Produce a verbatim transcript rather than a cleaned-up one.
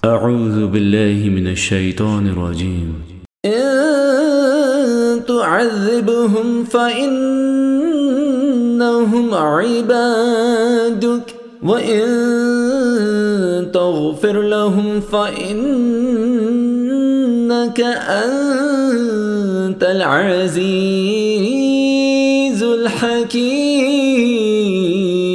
أعوذ بالله من الشيطان الرجيم. إن تعذبهم فإنهم عبادك وإن تغفر لهم فإنك أنت العزيز الحكيم.